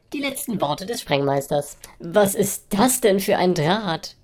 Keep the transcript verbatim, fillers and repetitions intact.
Die letzten Worte des Sprengmeisters. Was ist das denn für ein Draht?